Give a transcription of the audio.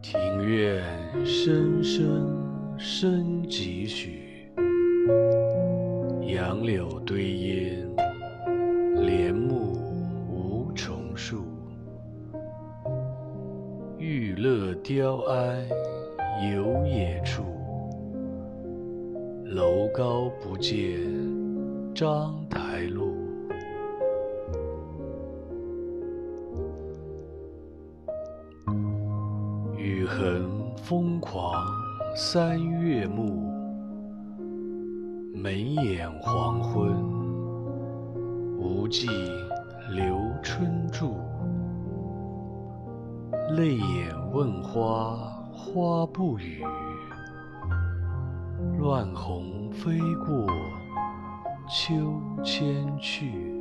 庭院深深深几许，杨柳堆烟，帘幕无重数。玉勒雕鞍游冶处，楼高不见章台路。雨痕疯狂三月暮，眉眼黄昏，无际留春住。泪眼问花，花不语，乱红飞过秋千去。